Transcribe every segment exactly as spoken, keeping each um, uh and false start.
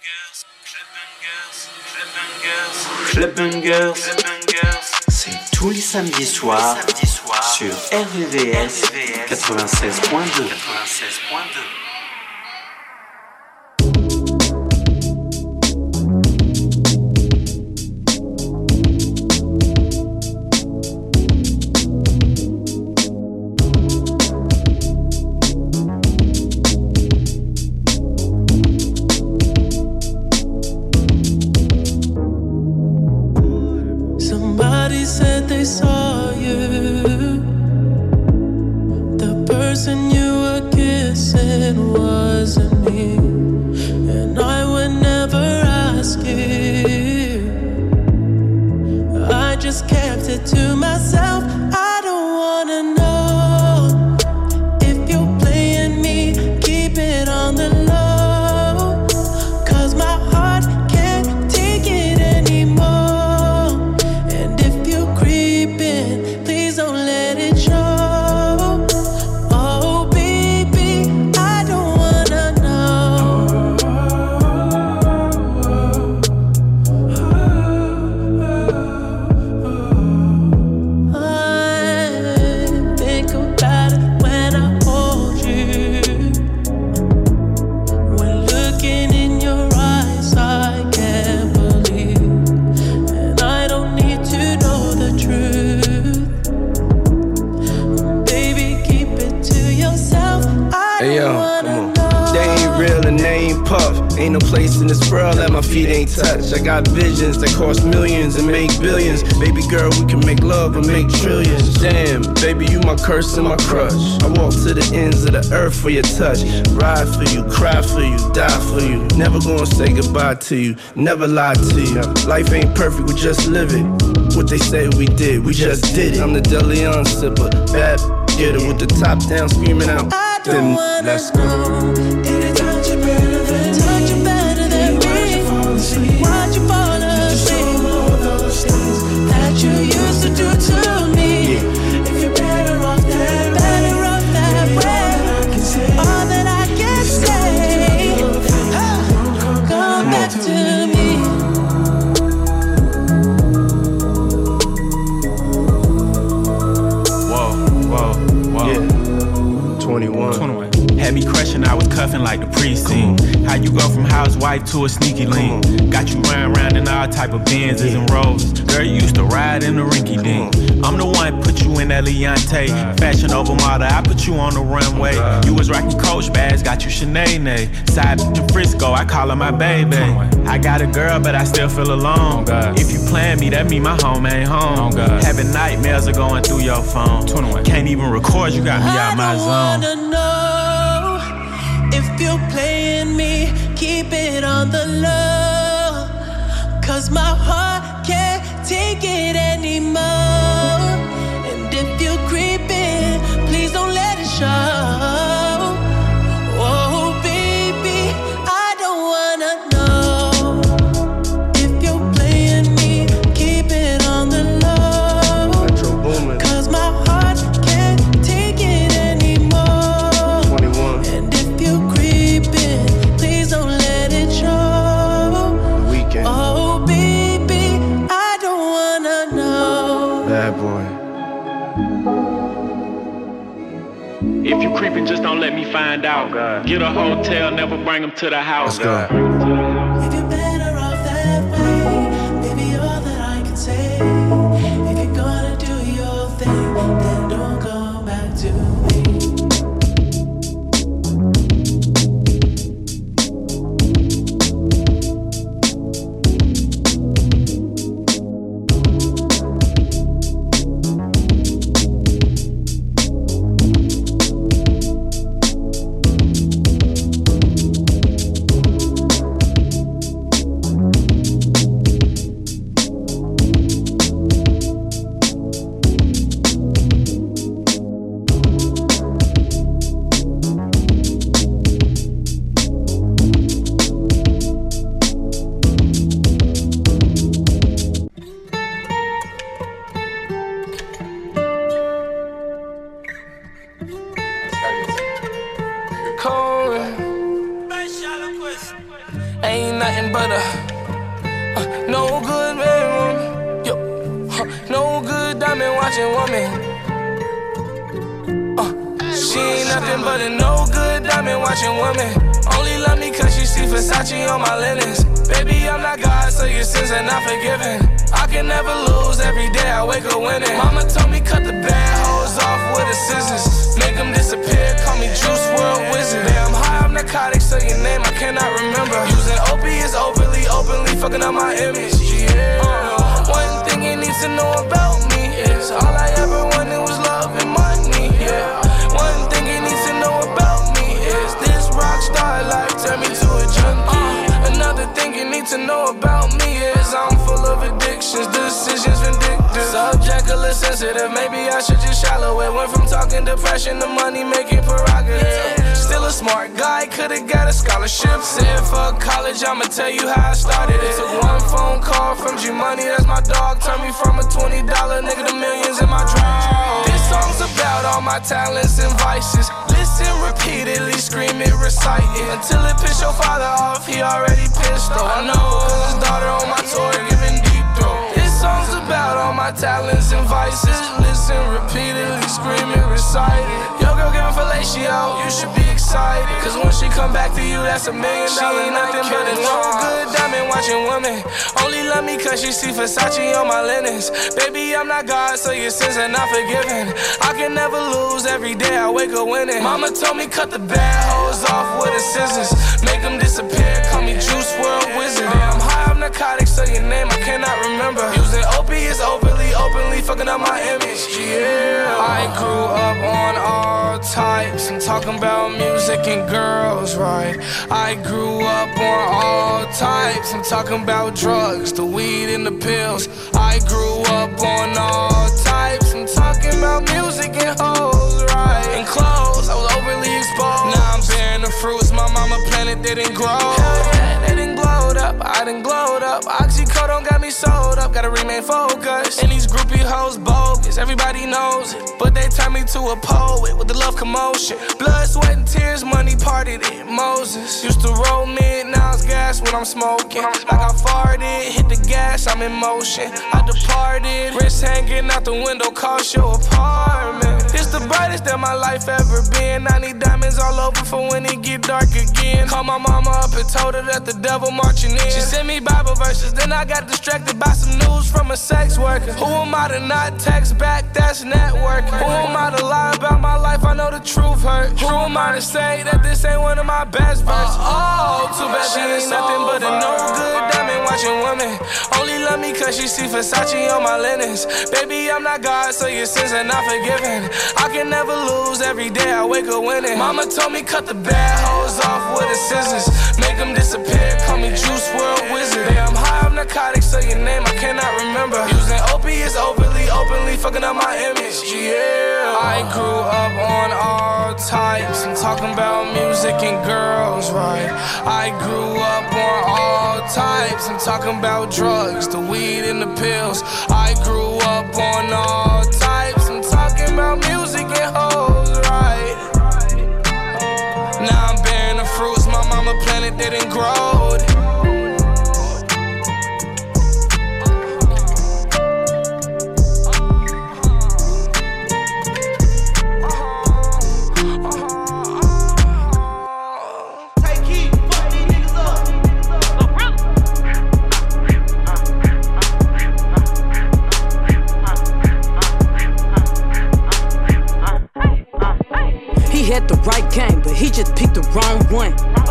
Club Bangers, c'est tous les samedis soirs sur R V V S quatre-vingt-seize point deux. I got visions that cost millions and make billions. Baby girl, we can make love and make trillions. Damn, baby, you my curse and my crush. I walk to the ends of the earth for your touch. Ride for you, cry for you, die for you. Never gonna say goodbye to you, never lie to you. Life ain't perfect, we just live it. What they say we did, we just did it. I'm the Deleon sipper, bad getter with the top down screaming out. Then let's go. Anytime you better than touch you better than me. Why'd you fall asleep? That you used to do to me. If you're better off that way, better off that way. All that I can say, come back to me. Whoa, whoa, whoa. Yeah. twenty-one. twenty-one. Had me crushing, I was cuffing like the precinct. How you go from housewife to a sneaky link? Got you running around in all type of Benzes and Rolls. Girl, you used to ride in the rinky dink. I'm the one put you in that Leontay. Fashion over model, I put you on the runway. You was rocking Coach bags, got you Sinead. Side bitch in Frisco, I call her my baby. I got a girl, but I still feel alone. If you plan me, that mean my home ain't home. Having nightmares are going through your phone. Can't even record, you got me out my zone. I wanna know if you're playing me, keep it on the low. Cause my heart can't take it anymore. And if you're creeping, please don't let it show. Oh baby, I don't wanna know if you're playing me, keep it on the low. Metro Boomin. Cause my heart can't take it anymore. twenty-one. And if you're creeping, please don't let it show. The Weekend. Oh baby, I don't wanna know. Bad boy. If you creeping, just don't let me find out. Oh, get a hotel, never bring them to the house. Let's go. If you're better off that way, baby, all that I can say. If you're gonna do your thing, then don't go back to me. Ain't nothing but a uh, no good man. Yo, uh, no good diamond watching woman. Uh, she ain't nothing but a no good diamond watching woman. Only love me cause she see Versace on my linens. Baby, I'm not God, so your sins are not forgiven. I can never lose, every day I wake up winning. Mama told me cut the bad hoes off with the scissors. Make them disappear, call me Juice world Wizard. Yeah, I'm high on narcotics, so your name I cannot remember. Using opiates openly, openly fucking up my image. Yeah. Uh, one thing you need to know about me is all I ever wanted was love and money. Yeah. One thing you need to know about me is this rock star life turned me to a junkie. Uh, another thing you need to know about me is I'm full of addictions, decisions vindictive. Subjectively sensitive, maybe I should just shallow it. Went from talking depression to money making prerogative. Still a smart guy, could've got a scholarship. Said fuck college, I'ma tell you how I started it. Took one phone call from G-Money, that's my dog. Turned me from a twenty dollar nigga to millions in my draw. This song's about all my talents and vices. Listen repeatedly, scream it, recite it until it piss your father off, he already pissed though. I know, cause his daughter on my tour giving deep throat. This song's about all my talents and vices. Listen repeatedly, scream it, recite it. Yo girl giving fellatio, you should be excited, cause when she come back to you, that's a million dollar. She ain't nothing but a no good diamond watching woman. Only love me cause she see Versace on my linens. Baby, I'm not God, so your sins are not forgiven. I can never lose, every day I wake up winning. Mama told me cut the bad hoes off with the scissors. Make them disappear, call me Juice world Wizard. Yeah, I'm high on narcotics, so your name I cannot remember. Using opiates openly, openly fucking up my image. Yeah, I grew up on all types. I'm talking about music and girls, right? I grew up on all types. I'm talking about drugs, the weed and the pills. I grew up on all types. I'm talking about music and hoes, right? And clothes, I was overly exposed. Now I'm bearing the fruits my mama planted, they didn't grow. Hell yeah, they didn't glowed up, I didn't glowed up. Oxycodone got me sold up, gotta remain focused. And these groupie hoes bogus, everybody knows it. But they turned me to a poet with the love commotion. Blood, sweat, and tears, money partied it. Moses used to roll mid, now it's gas when I'm smoking. Like I farted, hit the gas, I'm in motion. I departed, wrist hanging out the window, cost your apartment. It's the brightest that my life ever been. I need diamonds all over for when it get dark again. Called my mama up and told her that the devil marching in. She sent me Bible verses, then I got distracted by some news from a sex worker. Who am I to not text back? That's networking. Who am I to lie about my life? I know the truth hurt. Who am I to say that this ain't one of my best verses? Oh, too bad she ain't nothing but a no good diamond watching woman. Only love me cause she see Versace on my linens. Baby, I'm not God, so your sins are not forgiven. I can never lose, every day I wake up winning. Mama told me cut the bad hoes off with the scissors. Make them disappear, call me Juice world Wizard. Yeah, I'm high on narcotics, so your name I cannot remember. Using opiates openly, openly fucking up my image. Yeah, I grew up on all types. I'm talking about music and girls, right? I grew up on all types. I'm talking about drugs, the weed and the pills. I grew up on all types. I'm talking about music and hoes, right? Now I'm bearing the fruits my mama planted, didn't grow. Had the right game, but he just picked the wrong one.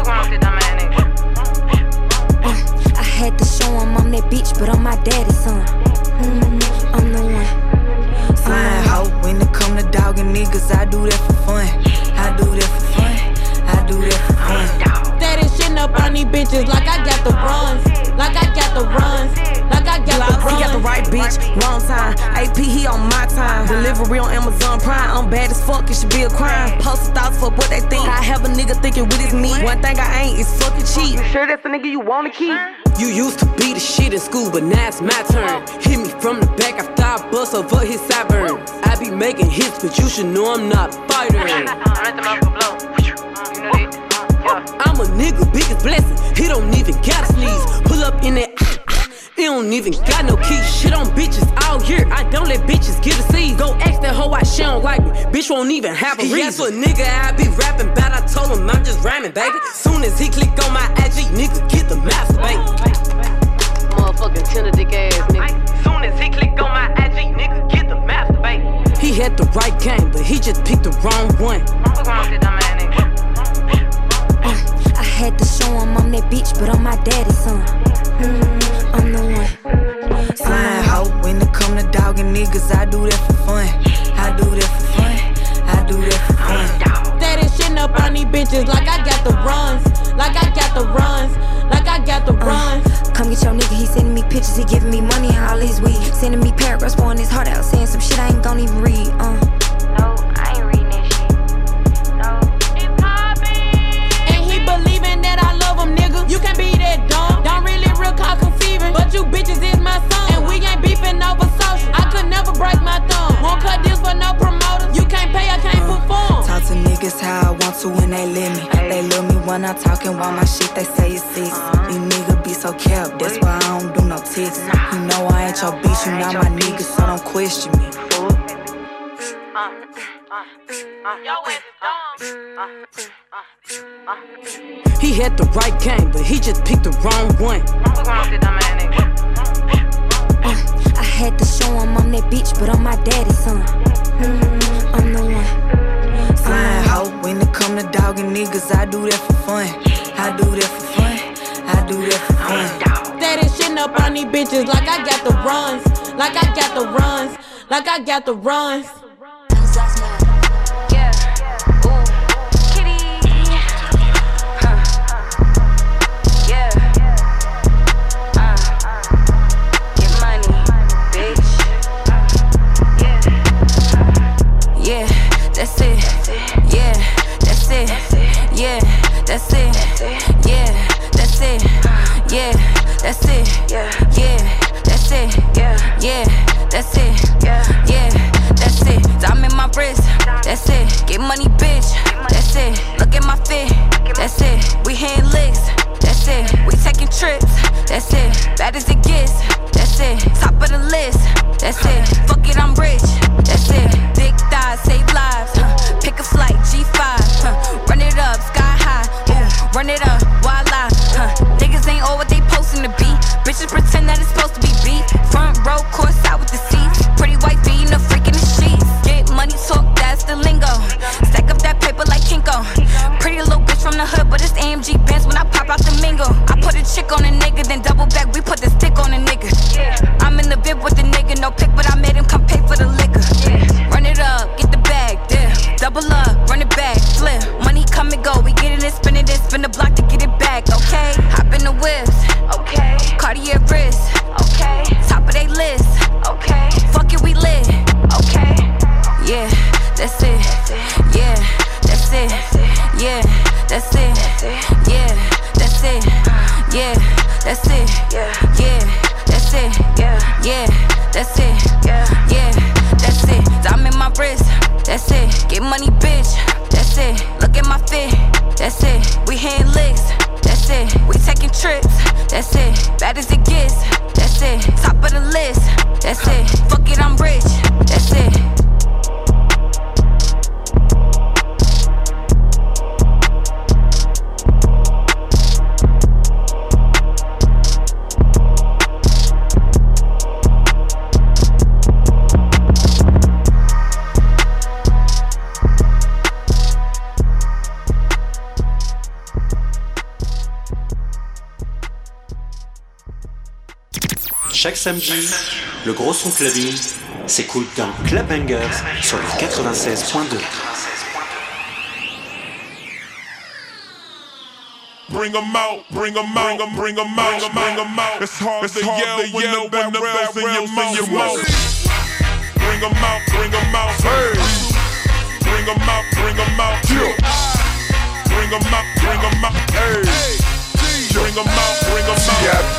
Uh, I had to show him I'm that bitch, but I'm my daddy's son. Mm, I'm the one. Flying hoe when it come to dogging niggas, I do that for fun. I do that for fun. I do that for fun. Steady shitting up on these bitches like I got the runs, like I got the runs, like I got the runs. He got the right bitch, wrong time. A P, he on my time. Delivery on Amazon Prime. I'm bad as fuck, it should be a crime. Post thoughts for what they think. I have a nigga thinking with his meat. One thing I ain't is fucking cheat. You sure that's the nigga you wanna keep? You used to be the shit in school, but now it's my turn. Hit me from the back after I bust over his sideburns. I be making hits, but you should know I'm not a fighter. I'm a nigga, biggest blessing. He don't even gotta sneeze. Pull up in that. He don't even got no keys. Shit on bitches all year. I don't let bitches get a seed. Go ask that hoe why she don't like me. Bitch won't even have a reason. He asked for a nigga I be rapping about. I told him I'm just rhyming, baby. Soon as he click on my I G, nigga, get the master, baby. Motherfucking tender dick ass nigga. Soon as he click on my I G, nigga, get the master, baby. He had the right game, but he just picked the wrong one. What's wrong with that dumb ass nigga? I had to show him I'm that bitch, but I'm my daddy's son. Mm, I'm the one. Flying hoe, when it come to dogging niggas, I do that for fun. I do that for fun. I do that for fun. Steady shitting up on these bitches like I got the runs. Like I got the runs. Like I got the runs. Uh, come get your nigga, he sending me pictures, he giving me money all his weed. Sending me paragraphs, pouring his heart out, saying some shit I ain't gon' even read. Uh. No, I ain't reading that shit. No. It's poppin'. And he believing that I love him, nigga. You can't be that dumb. Don't really real call conceiving. But you bitches is my son. And we ain't beefing over social. I could never break my thumb. Won't cut deals for no promoters. You can't pay, I can't uh, perform. Talk to niggas how I want to when they let me. They love me when I'm talking while my shit they say it's six. These niggas be so capped, that's why I don't do no text. You know I ain't your bitch, you not my nigga, so don't question me. He had the right game, but he just picked the wrong one. uh, I had to show him I'm that bitch, but I'm my daddy's son. Mm, I'm the one. Flying hoe, when it come to dogging niggas, I do that for fun. I do that for fun. I do that for fun. Steady shitting up on these bitches like I got the runs. Like I got the runs. Like I got the runs. That's it, yeah, that's it, yeah, that's it, yeah, that's it, yeah, that's it, yeah, that's it, yeah, that's it, yeah, that's it. Diamond in my wrist, that's it. Get money, bitch, that's it. Look at my fit, that's it. We hitting licks, that's it. We taking trips, that's it. Bad as it gets, that's it. Top of the list, that's it. Fuck it, I'm rich, that's it. Big thighs, save lives. Huh. Pick a flight, G five. Huh. Run it up, sky high. Ooh. Run it up, voila. Huh. Niggas ain't all what they posting to be. Bitches pretend that it's supposed to be beat. Front row, course out with the seats. Pretty white beating a freak in the sheets. Get money, talk, that's the lingo. Stack up that paper like Kinko. Pretty little bitch from the hood, but it's A M G Benz when I pop out the mingle. I put a chick on a nigga, then double back. We put the stick on a nigga. I'm in the bib with the nigga, no pick, but I made him come pay for the liquor. Run it up, get the bag, dip. Double up, run it back, flip. Money come and go, we get it and spin it and spin the block to get it back, okay? Hop in the whips, okay. Cartier wrist, okay. Top of they list, okay. Fuck it, we lit, okay. Yeah, that's it, yeah, that's it, yeah, that's it, yeah, that's it, yeah, that's it, yeah, that's it, yeah, that's it, yeah, that's it. Diamond in my wrist, that's it. Get money, bitch, that's it. Look at my fit, that's it. We hitting licks, that's it. We taking trips, that's it. Bad as it gets, that's it. Top of the list, that's it. Fuck it, I'm rich, that's it. Chaque samedi, le gros son clubbing s'écoute dans Club Bangers sur le quatre-vingt-seize point deux. Bring 'em out, bring 'em out, bring 'em out, bring 'em out. It's hard to yell when the barrel's in your mouth. Bring 'em out, bring 'em out, hey. Bring 'em out, bring 'em out, bring 'em out, bring 'em out, hey. Bring 'em out, bring 'em out.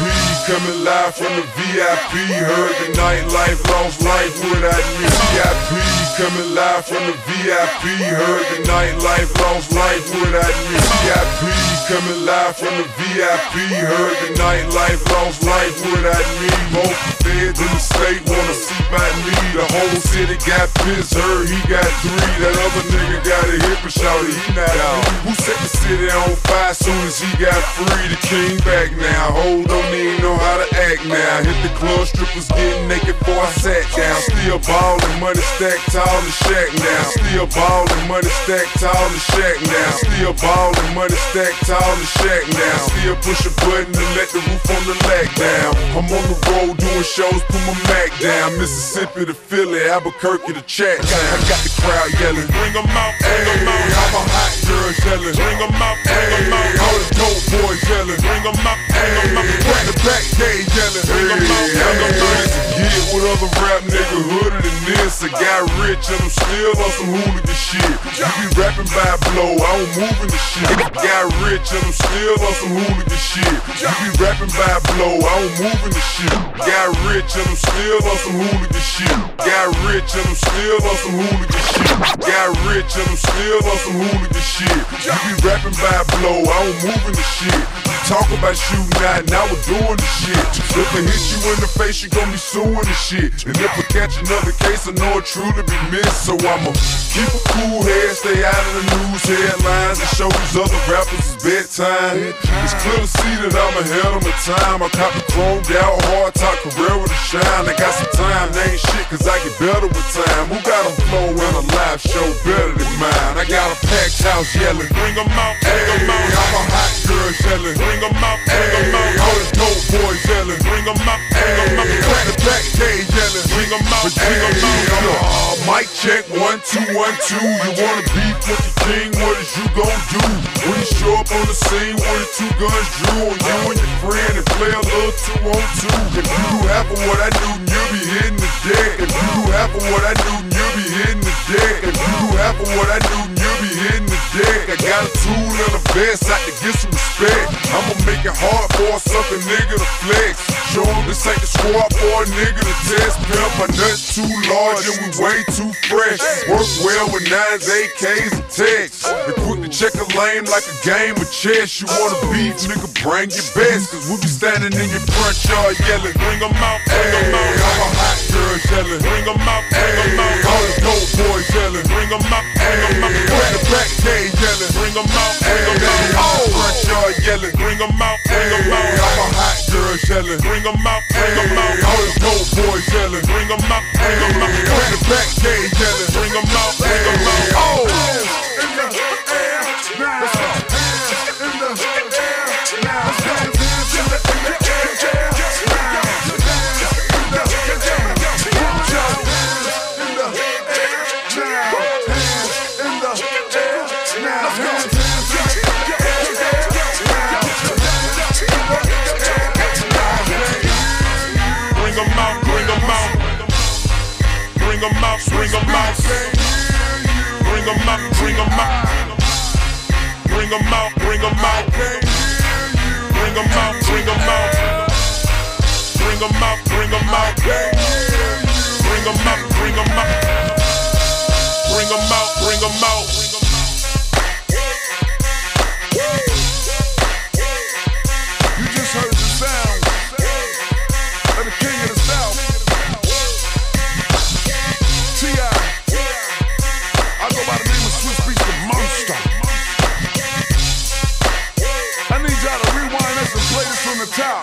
coming live from the V I P. Heard the nightlife, lost life without me. V I P coming live from the V I P. Heard the nightlife, lost life without me. V I P coming live from the V I P. Heard the nightlife, lost life without me. Most feds in the state wanna see by me. The whole city got pissed, heard he got three. That other nigga got a hip and shouted he not out. Who set the city on fire soon as he got free? The king back now. Hold don't even know how to act now. Hit the club, strippers getting naked before I sat down. Still ballin', money stacked tall in shack now. Still ballin', money stacked tall in shack now. Still ballin', money stacked tall in shack now. Still push a button and let the roof on the lag down. I'm on the road doing shows, put my Mac down. Mississippi to Philly, Albuquerque to Chat. I got the crowd yelling, bring 'em out, bring 'em out. I'm a hot girl yelling, bring 'em out, bring 'em out. All the dope boys yelling, bring 'em out, bring 'em out. Back to back gay yelling, bring 'em out, bring 'em out. Get with other rap nigga hooded than this. I got rich and I'm still on some hooligan shit. You be rapping by blow, I don't move in the shit. Got rich and I'm still on some hooligan shit. You be rapping by blow, I don't move in the shit. Got rich and I'm still on some hooligan shit. Got rich and I'm still on some hooligan shit. Got rich and I'm still on some hooligan shit. You be rapping by blow, I don't move in the shit. Talk about shooting out, now we're doing the shit. If I hit you in the face, you gon' be suing the shit. And if I catch another case, I know it truly be missed. So I'ma keep a cool head, stay out of the news headlines, and show these other rappers it's bedtime. It's clear to see that I'm ahead of my time. I copy chromed out, hard top Carrera to shine. I got some time, they ain't shit, cause I get better with time. Who got a flow and a live show better than mine? I got a packed house yelling, bring 'em out, bring 'em out. I'm a hot girl yelling, bring 'em out, bring 'em out. All the dope boys yelling, bring 'em out, bring 'em out. Back to back gay yelling, bring 'em out, bring 'em out. Uh, mic check, one, two, one, two. You wanna beef with the king, what is you gon' do? When you show up on the scene, one or two guns drew on you and your friend and play a little two on two. If you do half of what I do, then you'll be hitting the deck. If you do half of what I do, then you'll be hitting the deck. If you do half of what I do, then you'll be hitting the deck. I got a tool and a vest out to get some respect. I'ma make it hard for a sucker nigga to flex. Show him this ain't the squad for a nigga to test. Pimp, my nuts too large and we way too fresh. Work well with nines, A Ks, and texts. They quick to check a lane like a game of chess. You wanna beef, nigga, bring your best. Cause we be standing in your front yard yelling, bring 'em out, bring 'em out. I'm a hot girl yelling, bring 'em out, bring 'em out. All the dope boys yelling, bring 'em out, bring 'em out. Back to back gay yelling, bring 'em out, bring 'em out. Oh, front yard yelling, bring 'em out, bring 'em out. I'm a hot girl yelling, bring 'em out, bring 'em out. All the dope boys yelling, bring 'em out, bring 'em out. Back to back gay yelling, bring 'em out, bring 'em out. Oh, in the air now, in the air now, in the air Bring 'em out, bring 'em out, bring 'em out, bring 'em out, bring 'em out, bring 'em out, bring 'em out, bring 'em out, bring 'em out, bring 'em out, bring 'em out, bring 'em out, bring 'em out, bring 'em out. You just heard the sound of the king of the South. From the top.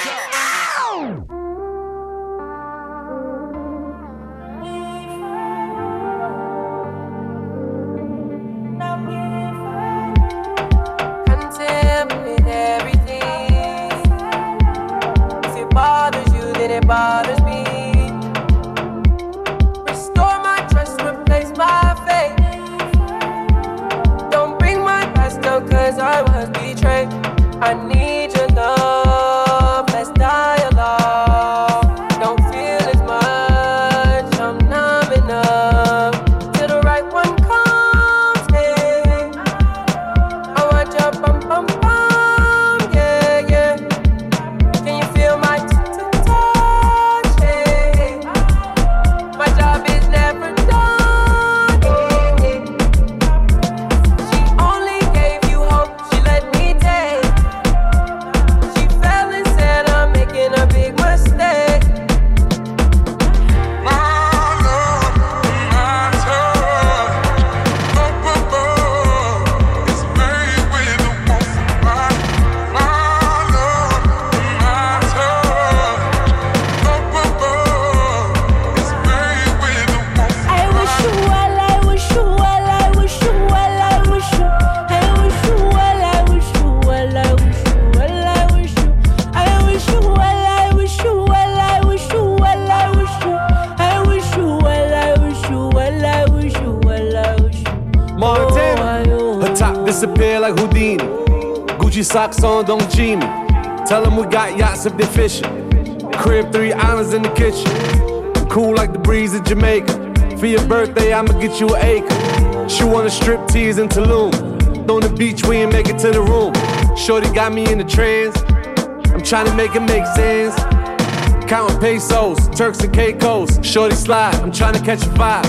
Content with everything. If it bothers you, then it bothers me. Restore my trust, replace my faith. Don't bring my past up, cause I was betrayed. I need your love, less dialogue. Don't feel as much, I'm numb enough. Till the right one comes, hey. I want your bum bum bum, yeah, yeah. Can you feel my Gucci socks on, don't G me. Tell them we got yachts if they're fishing. Crib, three islands in the kitchen. I'm cool like the breeze of Jamaica. For your birthday, I'ma get you an acre. She wanna strip tease in Tulum. On the beach, we ain't make it to the room. Shorty got me in the trance. I'm trying to make it make sense. Counting pesos, Turks and Caicos. Shorty slide, I'm trying to catch a vibe.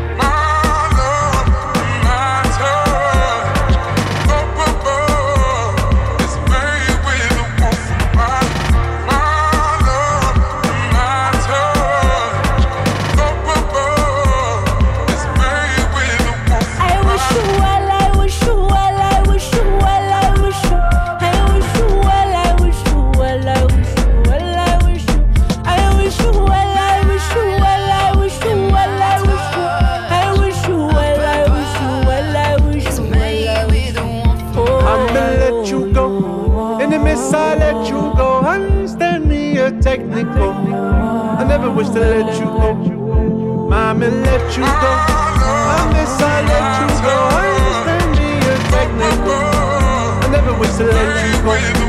Technical. I never wish to let you go. Mommy, let you go. I miss I let you go. I understand me, you're technical. I never wish to let you go.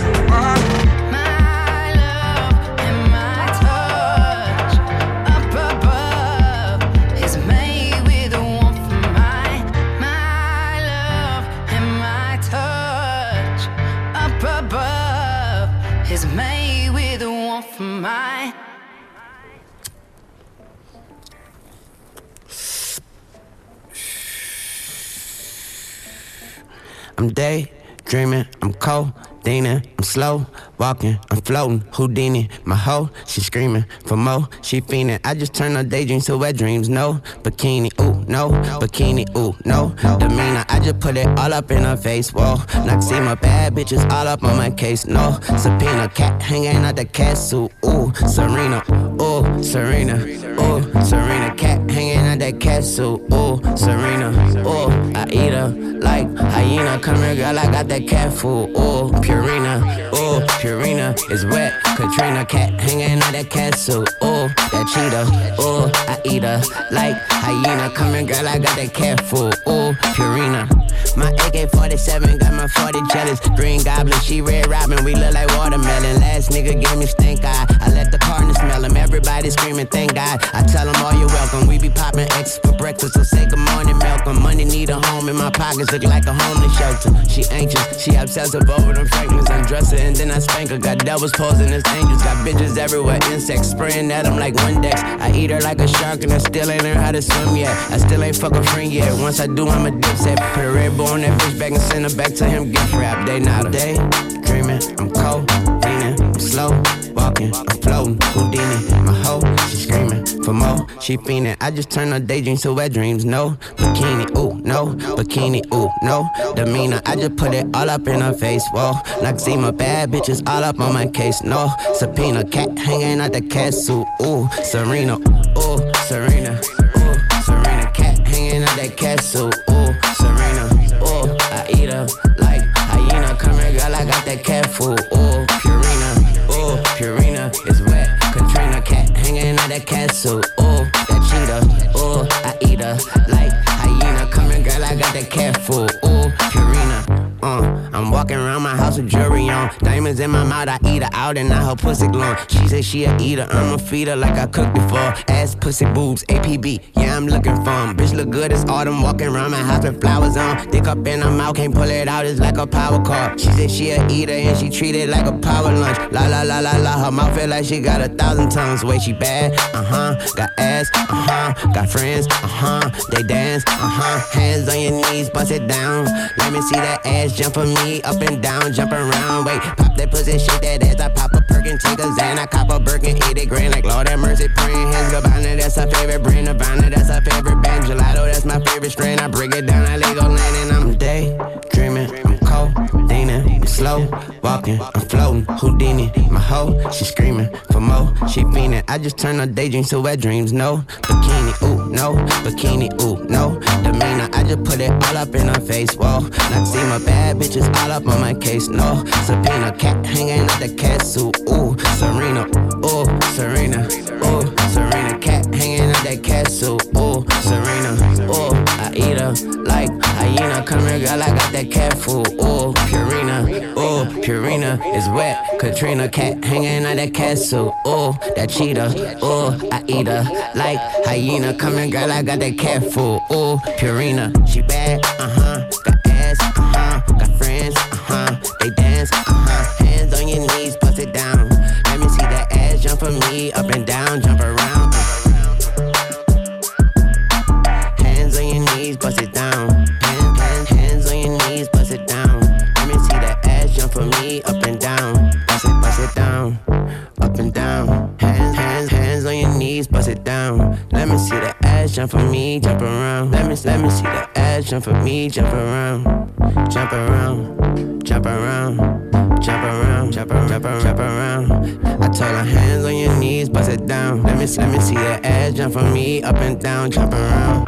I'm daydreaming, I'm codeine, I'm slow walking, I'm floating, Houdini. My hoe, she screaming for more, she fiending. I just turn her daydreams to wet dreams. No bikini, ooh, no bikini, ooh, no demeanor. I just put it all up in her face. Whoa, Noxema, bad bitches all up on my case. No subpoena, cat hanging out the cat suit. Ooh, Serena, ooh, Serena, ooh, Serena, cat hanging out that cat suit. Ooh, Serena, ooh, I eat her like hyena. Come here, girl, I got that cat food. Ooh, Purina, ooh, Purina is wet. Katrina, cat hanging out that cat suit. Ooh, that cheetah, ooh, I eat her like hyena. Come here, girl, I got that cat food. Ooh, Purina. My A K forty-seven got my forty jealous. Green Goblin, she Red Robin, we look like watermelon. Last nigga gave me stink eye. I let the partner smell him. Everybody screaming, thank God. I tell them all you're welcome. We be popping X for breakfast, so say good morning, Malcolm. Money need a home, and my pockets look like a homeless shelter. She anxious, she obsessive over them fragments. Undress her and then I spank her. Got devils posing as angels. Got bitches everywhere, insects spraying at them like Windex. I eat her like a shark and I still ain't learned how to swim yet. I still ain't fuck a friend yet. Once I do, I'm a dipset. Put a Red Bull on that bitch back and send her back to him gift wrap. They not a day dreaming, I'm cold, leaning, I'm slow walking, I'm floating, Houdini. My hoe, she screaming for more, she fiending. I just turn her daydreams to wet dreams. No bikini, ooh, no bikini, ooh, no demeanor. I just put it all up in her face. Whoa, Noxema, bad bitches all up on my case. No subpoena, cat hanging out the cat suit. Ooh, Serena, ooh, Serena, ooh, Serena, cat hanging out that cat suit. Ooh, Serena, ooh, I eat her like hyena. Come here, girl, I got that cat food. Ooh, Purina, ooh, Purina is wet. Katrina, cat hanging out that cat suit. Ooh, that cheetah, ooh, I eat her like hyena. Come here, girl, I got that cat food. Ooh, Purina. Uh, I'm walking around my house with jewelry on. Diamonds in my mouth, I eat her out and now her pussy glowing. She said she a eater, I'ma feed her like I cooked before. Ass, pussy, boobs, A P B, yeah, I'm looking for 'em. Bitch look good, it's autumn, walking around my house with flowers on. Dick up in her mouth, can't pull it out, it's like a power car. She said she a eater and she treat it like a power lunch. La la la la la, her mouth feel like she got a thousand tongues. Way she bad, uh-huh, got ass, uh-huh, got friends, uh-huh, they dance, uh-huh. Hands on your knees, bust it down. Let me see that ass jump for me, up and down, jump around. Wait, pop that pussy, shake that ass. I pop a perk and take a Xan. I cop a Birkin, eat it grand like Lord have mercy, praying hands. Gabbana, that's her favorite brand. Nirvana, that's her favorite band. Gelato, that's my favorite strain. I break it down, I Lego land and I'm daydreaming. I'm cold, leaning, I'm slow walking, I'm floating, Houdini. My hoe, she screaming for more, she fiending. I just turn her daydreams to wet dreams. No bikini, ooh, no bikini, ooh, no demeanor. I just put it all up in her face. Whoa, Noxema, bad bitches all up on my case. No subpoena, cat hanging out the cat suit. Ooh, Serena, ooh, Serena, ooh, Serena, cat hanging out that cat suit. Ooh, Serena, ooh, I eat her like hyena. Come here, girl, I got that cat food. Ooh, Purina, ooh. Ooh, Purina is wet. Katrina cat hanging out that castle. Ooh, that cheetah. Ooh, I eat her like hyena. Come here, girl, I got that cat food. Ooh, Purina, she bad, uh-huh. Got ass, uh-huh. Got friends, uh-huh. They dance, uh-huh. Hands on your knees, bust it down. Let me see that ass jump for me. Up and down, jump around. Hands on your knees, bust it down. Hands, hands, hands on your knees, bust it down. Let me see that ass jump for me. Up and down, bust it, bust it down. Up and down, hands, hands, hands on your knees, bust it down. Let me see that ass jump for me, jump around. Let me, let me see that ass jump for me, jump around, jump around, jump around, jump around, jump around, jump around, jump around. I told her hands on your knees, bust it down. Let me, let me see that ass jump for me, up and down, jump around.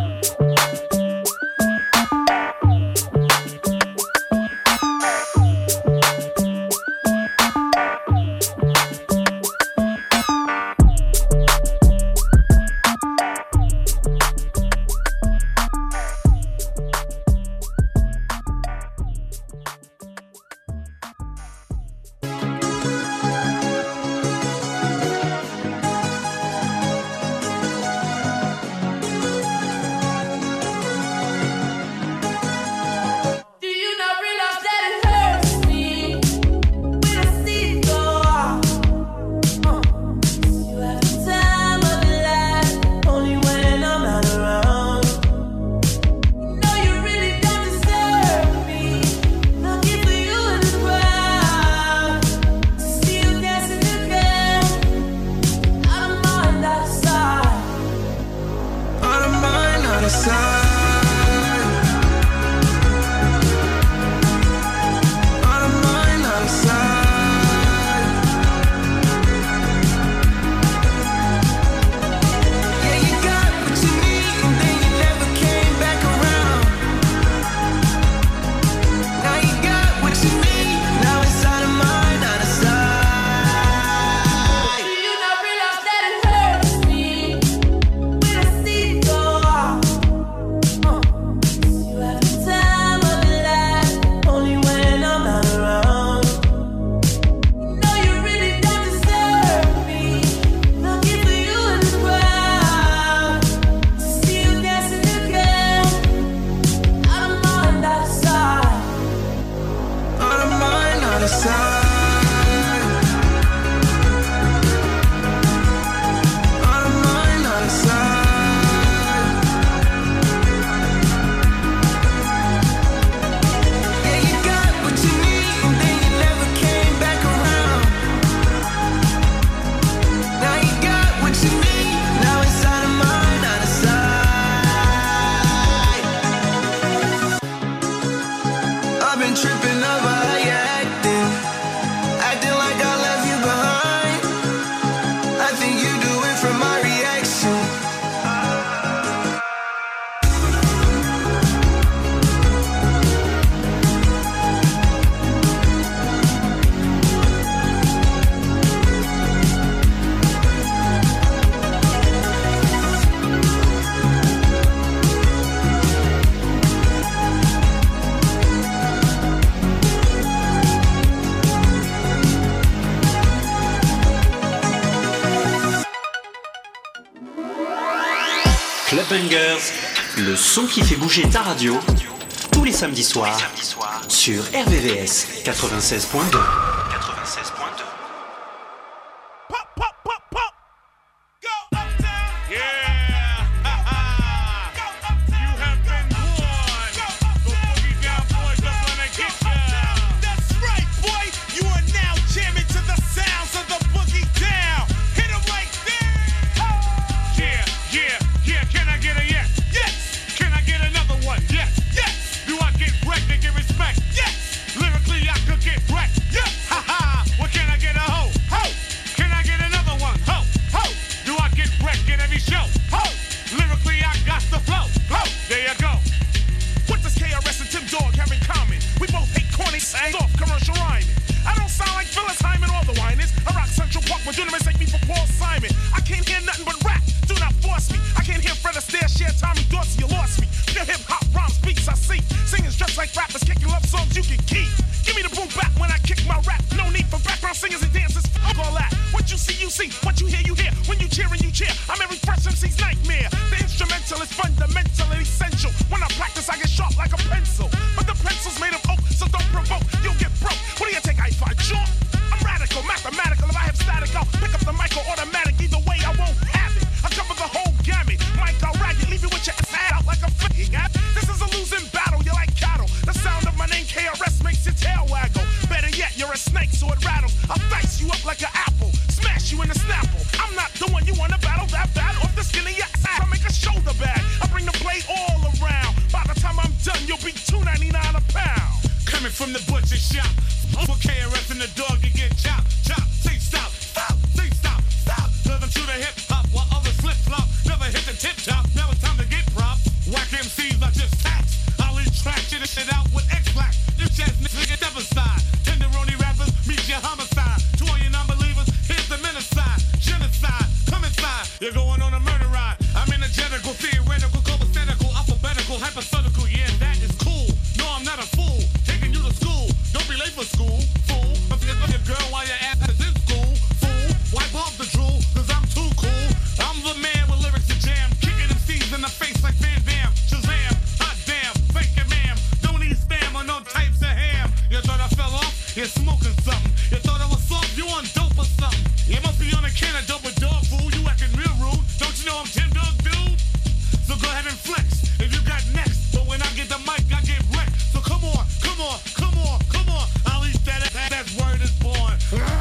Club Bangers, le son qui fait bouger ta radio, tous les samedis soirs, sur R V V S quatre-vingt-seize point deux. Respect, yes. Lyrically, I could get wrecked, yes. What you see, you see. What you hear, you hear. When you cheer and you cheer, I'm every fresh M C's nightmare. The instrumental is fundamental and essential. When I practice, I get sharp like a pencil. But the pencil's made of oak, so don't provoke. You'll get broke. What do you take? I find chalk. I'm radical, mathematical. If I have static, I'll pick up the mic or automatic. Either way, I won't have it. I cover the whole gamut. Mic, I'll rag it. Leave you with your ass out like a fucking ass. This is a losing battle. You're like cattle. The sound of my name, K R S, makes your tail waggle. Better yet, you're a snake, so it rattles. I'll dice you up like an apple. Smash you in the snapple. I'm not the one you wanna battle that bad off the skin of your ass. I make a shoulder bag. I bring the blade all around. By the time I'm done, you'll be two ninety-nine a pound. Coming from the butcher shop. For K R S and the dog, you get chopped, chopped. Say stop, stop, say stop, stop. Cause I'm true to hip hop while others flip flop. Never hit the tip top. Now it's time to get props. Whack M Cs are just tax. I'll extract shit and shit out with X-Black. This jazz niggas get never side. Tenderoni rappers meet your homicide. To all you non-believers, here's the menacide. Genocide, come inside. You're going on a murder ride. I'm energetical, theoretical, copacetic, alphabetical, hypothetical. Yeah, that is cool. No, I'm not a fool. Taking you to school. Don't be late for school, fool. I'm forgetting your girl while your ass is in school, fool. Wipe off the drool, cause I'm too cool. I'm the man with lyrics to jam. Kicking them C's in the face like Van Damme. Shazam, hot damn, fake it, ma'am. Don't eat spam or no types of ham. You thought I fell off? You're smoking something. You thought I was soft? You on dope or something? You must be on a can of dope with dog food. You acting real rude. Don't you know I'm Tim Dog Dude? So go ahead and flex if you got next. But when I get the mic, I get wrecked. So come on, come on, come on, come on. I'll eat that. That, that word is born.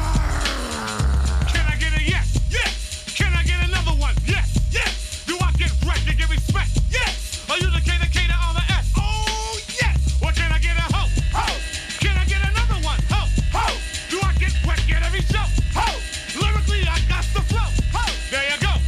Can I get a yes? Yes. Can I get another one? Yes. Yes. Do I get wrecked and get respect? Yes. Are you the K, the K, the R, the S? Oh, yes. Or can I get a ho? Ho. Can I get another one? Ho. Ho. Do I get wrecked at every show? Ho. Lyrically, I got the flow. Ho. There you go.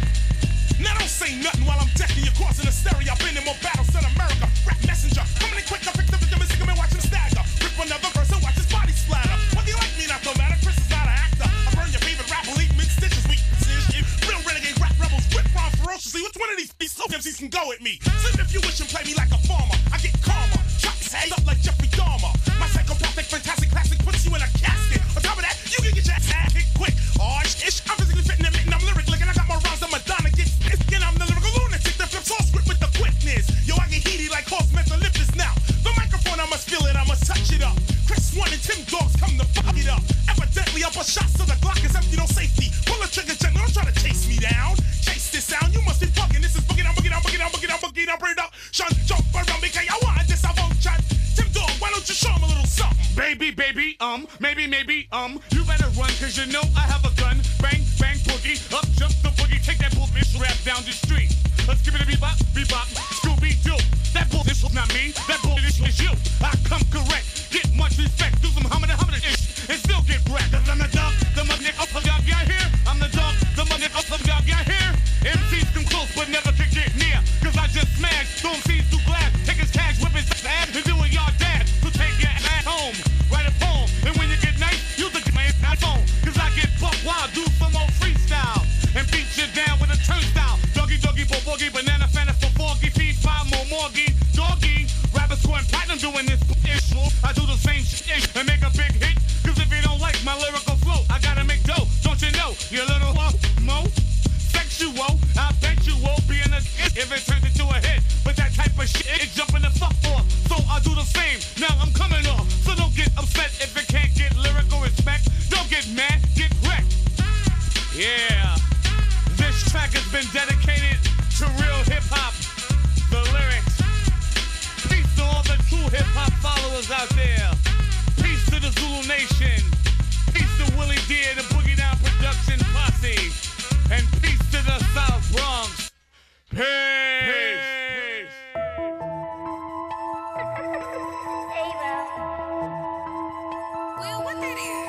Now don't say nothing while I'm decking you, crossing the stereo. I've been in more battles than America. Rap messenger, coming in quick, I pick the victim and sick him and watch him stagger. Rip another verse and watch his body splatter. Whether you like me, not no matter. Chris is not an actor. I burn your favorite rapper, leave mid stitches, weak decision. Real renegade rap rebels, whip rhyme ferociously. Which one of these these so M Cs can go at me? Sleep if you wish and play me like a farmer. I get calmer, chop his head up like Jeffrey Dahmer. My psychopathic, fantastic classic puts you in a casket. On top of that, you can get your ass hit quick. Oh, ish, I'm physically fitting and mitten, I'm lyric licking. I got more rhymes than Madonna gets. And I'm the lyrical lunatic that flips all script with the quickness. Yo, I get heaty like horse meant to lift this now. The microphone, I must feel it, I must touch it up. Chris One and Tim Dogs come to fuck it up. Evidently, up a shot so the Glock is empty, no safety. Pull the trigger gently, don't try to chase me down. Chase this sound, you must be fucking. This is boogie down, boogie down, boogie down, boogie down, boogie down, bring it up. Sean, jump around me, cause I want this, I won't chat. Tim Dog, why don't you show him a little something? Baby, baby, um, maybe, maybe, um, you better run, cause you know I have a gun. Bang, bang, boogie, up jump the boogie, take that bullshit rap down the street. Let's give it a bebop, bebop, Scooby-Doo. That bullshit is not me, that bullshit is you. I come correct, get much respect, do some hummin' hummin' ish, and still get wrecked. Cause I'm the dog, the mother up of y'all got here. I'm the dog, the mother up of y'all got here. M Cs come close, but never can get near. Cause I just smashed, throw M Cs through glass, take his cash, whip his ass, and do what y'all dad. So take your ass home, write a poem, and when you get nice, use the man phone. Cause I get buck wild, do some more freestyle, and beat you down with a turnstile. Doggy, doggy, bo boogie, banana, fanta, for foggy, feed five more morgy, doggy, rabbit scoring platinum doing this issue. I do the same shit and make a big hit. Cause if you don't like my lyrical flow, I gotta make dough. Don't you know, you little uh, mo? Sexual, I bet you won't be in a hit if it turns into a hit. But that type of shit, it jumping the fuck off. So I do the same, now I'm coming off. So don't get upset if it can't get lyrical respect. Don't get mad, get wrecked. Yeah. This track has been dedicated to real hip-hop, the lyrics. Peace to all the true hip-hop followers out there. Peace to the Zulu Nation. Peace to Willie D, the Boogie Down Production Posse. And peace to the South Bronx. Peace! Peace. Well, what that is?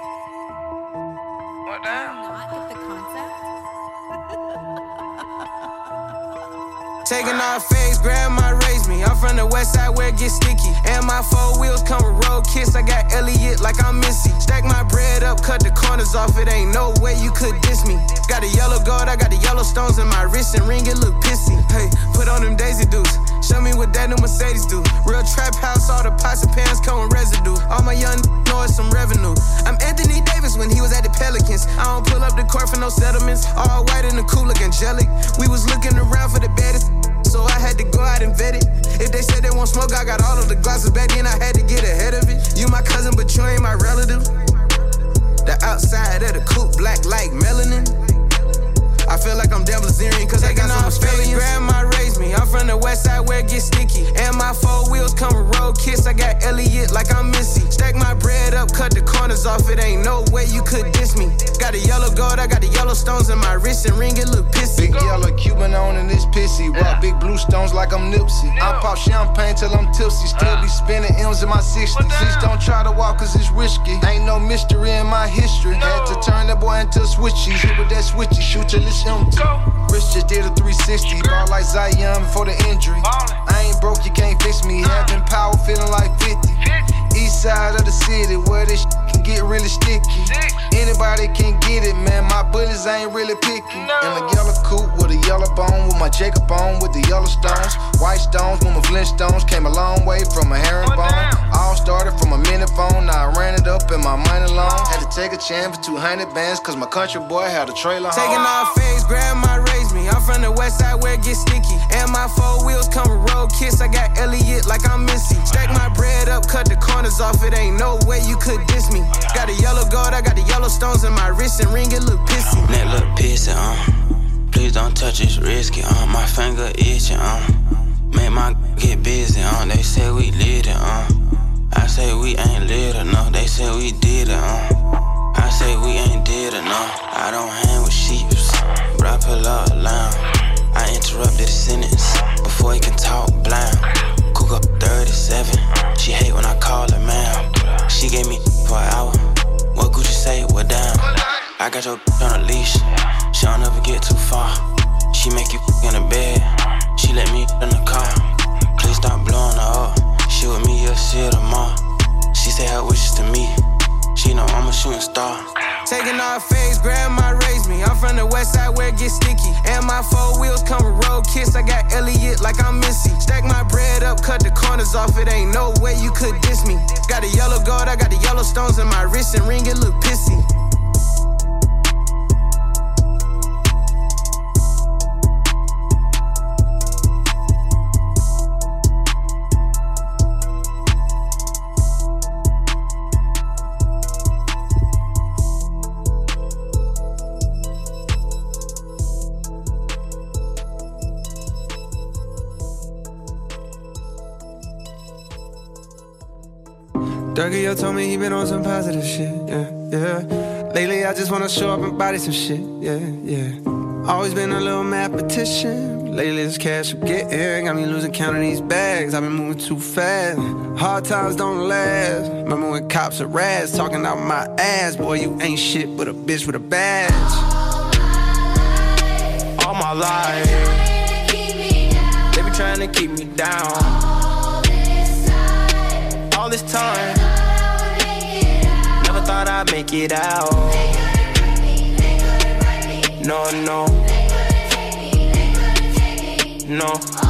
What that? Not with the concept. Taking off face, grab my raise me. I'm from the west side where it gets sticky. And my four wheels come with road kiss. I got Elliot like I'm Missy. Stack my bread up, cut the corners off. It ain't no way you could diss me. Got a yellow gold, I got the yellow stones in my wrist and ring, it look pissy. Hey, put on them Daisy Dukes. Show me what that new Mercedes do. Real trap house, all the pots and pans come with residue. All my young know it's some revenue. I'm Anthony Davis when he was at the Pelicans. Pelicans. I don't pull up the court for no settlements. All white and the cool look angelic. We was looking around for the baddest, so I had to go out and vet it. If they said they won't smoke, I got all of the glasses back then. I had to get ahead of it. You my cousin, but you ain't my relative. The outside of the coupe, black like melanin. I feel like I'm Devil Zerian, cause I got some Australians. Grandma raised me, I'm from the west side where it gets sticky. And my four wheels come with road kiss, I got Elliot like I'm Missy. Stack my bread up, cut the corners off, it ain't no way you could diss me. Got a yellow gold, I got the yellow stones in my wrist and ring, it look pissy. Big yellow Cuban on and it's pissy. Rock yeah. Big blue stones like I'm Nipsey. I pop champagne till I'm tipsy, still uh. be spinning M's in my sixties. Please don't try to walk cause it's risky. Ain't no mystery in my history. No. Had to turn that boy into a switchy. Hit with that switchy, shoot till it's empty. Rich just did a three sixty, ball like Zion before the injury. I ain't broke, you can't fix me. Having power, feeling like fifty. East side of the city, where this can get really sticky. Anybody can get it, man. My bullets ain't really picky. In a yellow coupe with a yellow bone, with my Jacob on with the yellow stones. White stones with my Flintstones. Came a long way from a herringbone. All started from a minute phone, now I ran it up in my money loan. Had to take a chance for two hundred bands, cause my country boy had a trailer home. Taking off face, grandma raised me. I'm from the west side where it gets sticky. And my four wheels come with road kiss. I got Elliot like I'm Missy. Stack my bread up, cut the corners off. It ain't no way you could diss me. Got a yellow gold, I got the yellow stones in my wrist and ring, it look pissy. Neck look pissy, uh. Please don't touch, it's risky, uh. My finger itching, uh. Make my get busy, uh. They say we lit it, uh. I say we ain't lit enough. They say we did it, uh. I say we ain't did enough. I don't hang with sheeps, but I pull up loud. I interrupted a sentence before he can talk blind. Cook up thirty-seven. She hate when I call her ma'am. She gave me for an hour. What Gucci say, what down? I got your on a leash. She don't ever get too far. She make you in the bed. She let me in the car. Please stop blowing her up. She with me, you'll see her tomorrow. She say her wishes to me. She know I'm a shooting star. Taking off face, grandma raised me. I'm from the west side where it gets sticky. And my four wheels come with road kiss. I got Elliot like I'm Missy. Stack my bread up, cut the corners off. It ain't no way you could diss me. Got a yellow gold, I got the yellow stones in my wrist and ring, it look pissy. Dougie yo told me he been on some positive shit, yeah, yeah. Lately I just wanna show up and body some shit, yeah, yeah. Always been a little mathematician. Lately this cash I'm getting got me losing count of these bags. I've been moving too fast. Hard times don't last. Remember when cops are rats talking out my ass? Boy, you ain't shit but a bitch with a badge. All my life, they be trying to keep me down. All this time, never thought I'd make it out. No, no, no.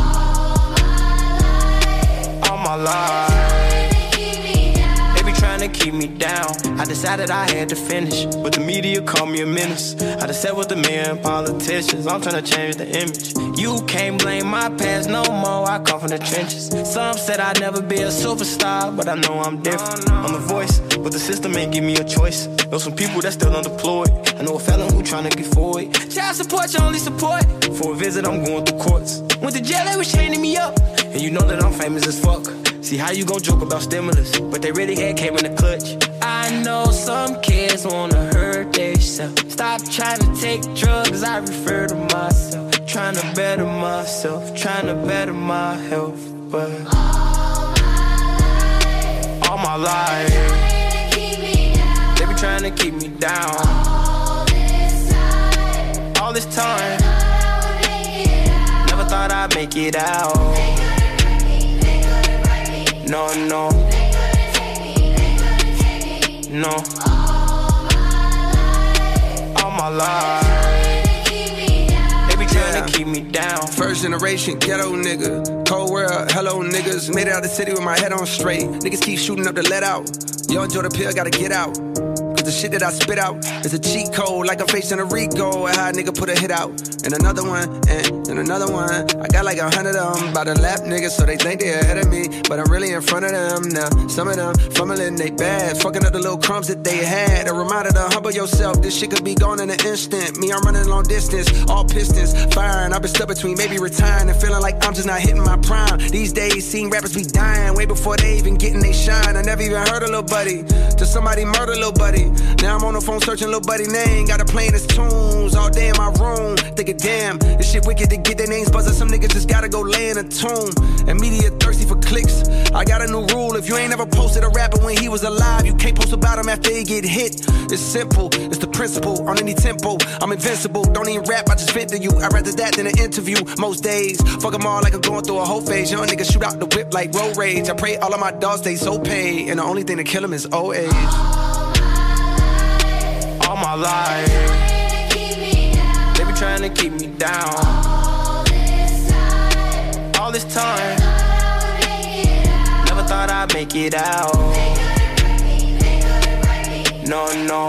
All my life, they be trying to keep me down. I decided I had to finish, but the media called me a menace. I just sat with the men, politicians. I'm trying to change the image. You can't blame my past no more, I come from the trenches. Some said I'd never be a superstar, but I know I'm different. I'm the voice, but the system ain't give me a choice. Know some people that still unemployed. I know a felon who tryna get forward. Child support, your only support. For a visit, I'm going through courts. Went to jail, they was chaining me up. And you know that I'm famous as fuck. See how you gon' joke about stimulus, but they really had came in the clutch. I know some kids wanna hurt themselves. Stop trying to take drugs, I refer to myself. Trying to better myself, trying to better my health, but all my life, they be trying to keep me down. All this time, never thought I'd make it out. No, no, no. All my life, trying to keep me down. First generation ghetto nigga. Cold world, hello niggas. Made it out the city with my head on straight. Niggas keep shooting up the let out. Yo, enjoy the pill, gotta get out. Cause the shit that I spit out is a cheat code, like I'm facing a Rico. And how a nigga put a hit out. And another one, and, and another one. I got like a hundred of them by the lap niggas, so they think they ahead of me. But I'm really in front of them now. Some of them fumbling they bad, fucking up the little crumbs that they had. A reminder to humble yourself, this shit could be gone in an instant. Me, I'm running long distance, all pistons firing. I've been stuck between maybe retiring and feeling like I'm just not hitting my prime. These days, seeing rappers be dying way before they even getting they shine. I never even heard of Lil Buddy, till somebody murder Lil Buddy. Now I'm on the phone searching Lil Buddy name, got to playing his tunes all day in my room. Thinking, damn, this shit wicked to get their names buzzing. Some niggas just gotta go lay in a tomb. And media thirsty for clicks. I got a new rule, if you ain't ever posted a rapper when he was alive, you can't post about him after he get hit. It's simple, it's the principle, on any tempo. I'm invincible, don't even rap, I just vent to you. I'd rather that than an interview most days. Fuck them all like I'm going through a whole phase. Young niggas shoot out the whip like road rage. I pray all of my dogs stay so paid, and the only thing to kill them is old age. All my life, they be trying to keep me down. All this time, never thought I'd make it out. No, no,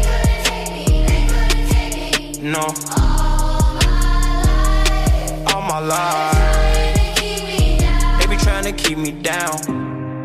no. All my life, they be trying to keep me down.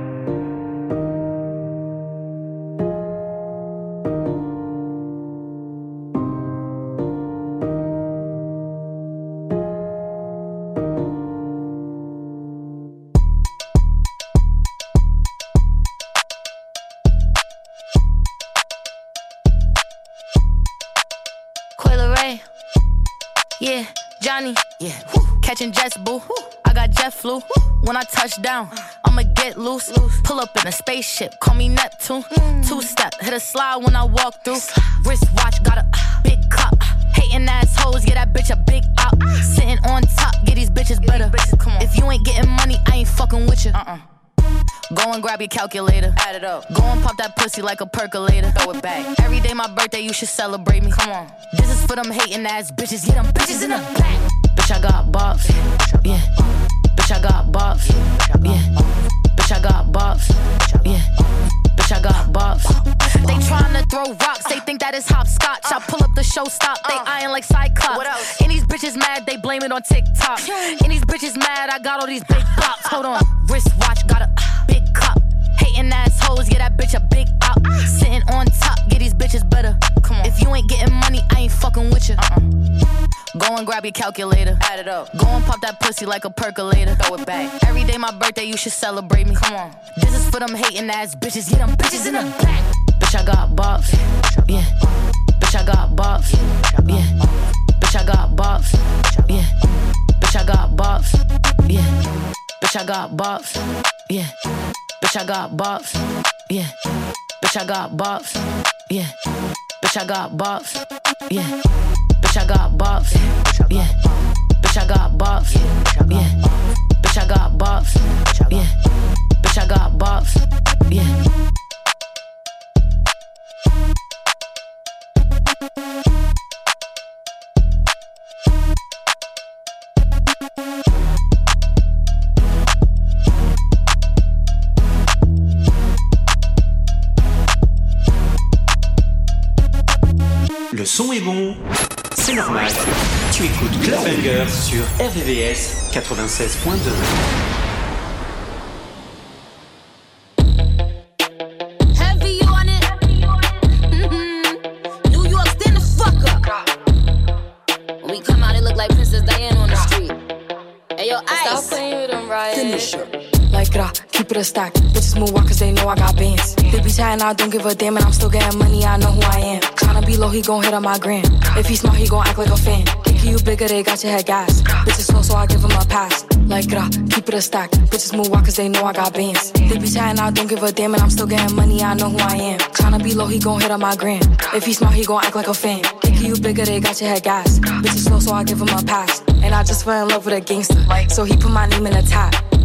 Yeah, Johnny, yeah. Catching jets, boo. I got jet flu. When I touch down, I'ma get loose. Pull up in a spaceship, call me Neptune. Two step, hit a slide when I walk through. Wrist watch, got a big cup. Hating assholes, get that bitch a big up. Sitting on top, get these bitches better. If you ain't getting money, I ain't fucking with you. Uh-uh. Go and grab your calculator, add it up. Go and pop that pussy like a percolator. Throw it back. Every day my birthday, you should celebrate me. Come on. This is for them hating ass bitches. Get them bitches in the back. Bitch, I got bops. Yeah. Bitch, I got bops. Yeah. Bitch, I got bops. Yeah. Bitch, I got bops. They tryna throw rocks. They think that is hopscotch. I pull up the show stop. They eyeing like Cyclops. And these bitches mad. They blame it on TikTok. And these bitches mad. I got all these big bops. Hold on. Wrist watch. Got a big cup. Hating assholes, get that bitch a big up. Sitting on top, get these bitches better. Come on. If you ain't getting money, I ain't fucking with you. Uh-uh. Go and grab your calculator, add it up. Go and pop that pussy like a percolator. Throw it back. Every day my birthday, you should celebrate me. Come on. This is for them hating ass bitches. Get them bitches in the back. Bitch, I got bops. Yeah. Bitch, I got bops. Yeah. Bitch, I got bops. Yeah. Bitch, I got bops. Yeah. Bitch, I got bops. Yeah. Bitch, I got bops. Yeah. Bitch, I got bops. Yeah. Bitch, I got bops. Yeah. Bitch, I got bops. Yeah. Bitch, I got bops. Yeah. Bitch, I got bops. Yeah. Bitch, I got bops. Yeah. Le son est bon, c'est normal. Tu écoutes Club Banger sur R V V S quatre-vingt-seize point deux. Heavy on it. Mm-hmm. New York, stand the fuck up. When we come out, it look like Princess Diana on the street. Hey, yo, Ice. Stop playing with them, right? Finish her. Like rah, keep it a stack. Bitches move on cause they know I got bands. They be chatting, I don't give a damn, and I'm still getting money, I know who I am. Tryna be low, he gon' hit on my gram. If he smart, he gon' act like a fan. Think you bigger, they got your head gas. Bitches slow, so I give him a pass. Like rah, keep it a stack. Bitches move on cause they know I got bands. They be chatting, I don't give a damn, and I'm still getting money, I know who I am. Tryna be low, he gon' hit on my gram. If he smart, he gon' act like a fan. Think you bigger, they got your head gas. Bitches slow, so I give him a pass. And I just fell in love with a gangster, so he put my name in the top.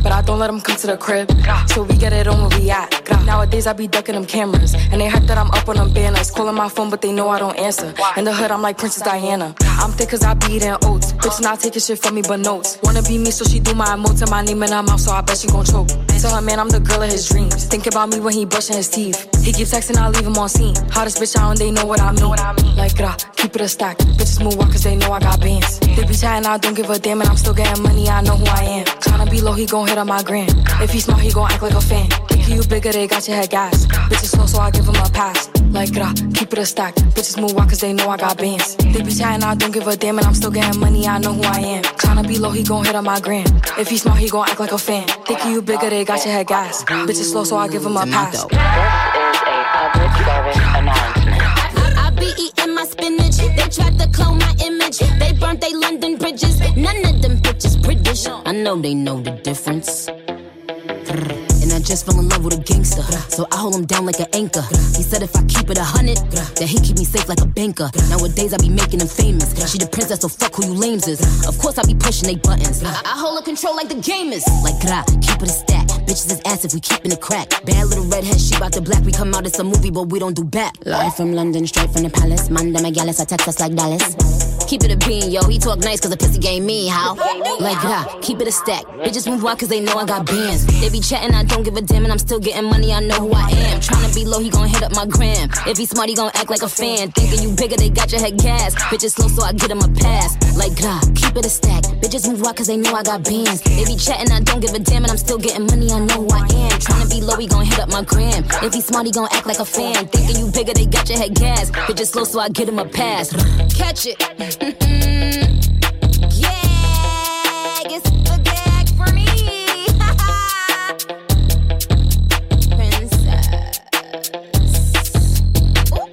but I don't let them come to the crib. So we get it on where we at. Nowadays I be ducking them cameras, and they hype that I'm up on them banners. Calling my phone, but they know I don't answer. In the hood, I'm like Princess Diana. I'm thick cause I be eating oats. Bitch not taking shit from me but notes. Wanna be me, so she do my emotes and my name in her mouth, so I bet she gon' choke. Tell her man I'm the girl of his dreams. Think about me when he brushing his teeth. He keep texting, I leave him on scene. Hottest bitch out and they know what I mean. Like grah, keep it a stack. Bitches move on cause they know I got bands. They be chatting, I don't give a damn, and I'm still getting money, I know who I am. Tryna be low, he gon' hit on my gram. If he smart, he gon' act like a fan. Think you bigger, they got your head gas. Bitches slow, so I give him a pass. Like grah, keep it a stack. Bitches move on cause they know I got bands. They be chatting, I don't give a damn, and I'm still getting money, I know who I am. Tryna be low, he gon' hit on my gram. If he smart, he gon' act like a fan. Think you bigger, they got your head gas. Bitches slow, so I give him a pass. This is a public service announcement. I be eating my spinach. They tried to clone my image. They burnt they London bridges. None of them bitches British. I know they know the difference. And I just fell in love with a gangster, so I hold him down like an anchor. He said if I keep it a hundred, that he keep me safe like a banker. Nowadays I be making him famous. She the princess, so fuck who you lames is. Of course I be pushing they buttons. I, I hold a control like the gamers. Like grah, keep it a stack. Bitches is ass if we keepin' it crack. Bad little redhead, she bout the black. We come out, it's a movie, but we don't do back. Live from London, straight from the palace. Manda Megalis, I text us like Dallas. Keep it a bean, yo. He talk nice cause the pussy game me, how? Like grah, keep it a stack. Bitches move on cause they know I got bands. They be chatting, I don't give a damn, and I'm still getting money, I know who I am. Tryna be low, he gon' hit up my gram. If he smart, he gon' act like a fan. Thinking you bigger, they got your head gas. Bitches slow, so I get him a pass. Like grah, keep it a stack. Bitches move on cause they know I got bands. They be chatting, I don't give a damn, and I'm still getting money, I know who I am. Tryna be low, he gon' hit up my gram. If he smart, he gon' act like a fan. Thinking you bigger, they got your head gas. Bitches slow, so I get him a pass. Catch it. Yeah, it's a gag for me. Princess. Ooh.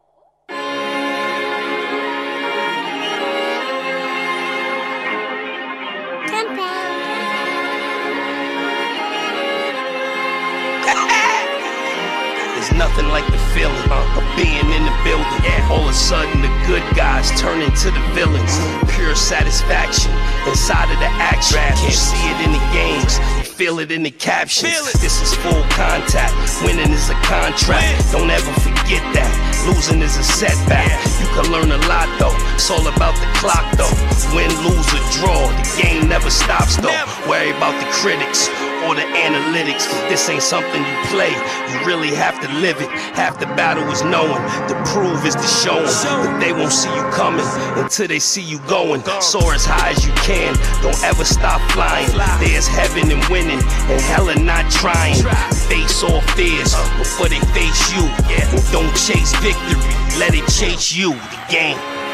There's nothing like the feeling uh, of being in the building. Yeah. All of a sudden, the good guys turn into the villains. Pure satisfaction inside of the action. Can't see it in the games, you feel it in the captions. This is full contact. Winning is a contract. Don't ever forget that. Losing is a setback. You can learn a lot though. It's all about the clock though. Win, lose, or draw. The game never stops though. Worry about the critics or the analytics. This ain't something you play. You really have to live it. Half the battle is knowing. The prove is the showing. But they won't see you coming until they see you going. Soar as high as you can. Don't ever stop flying. There's heaven in winning and hell in not trying. Face all fears before they face you. And don't chase victory. Let it chase you. The game.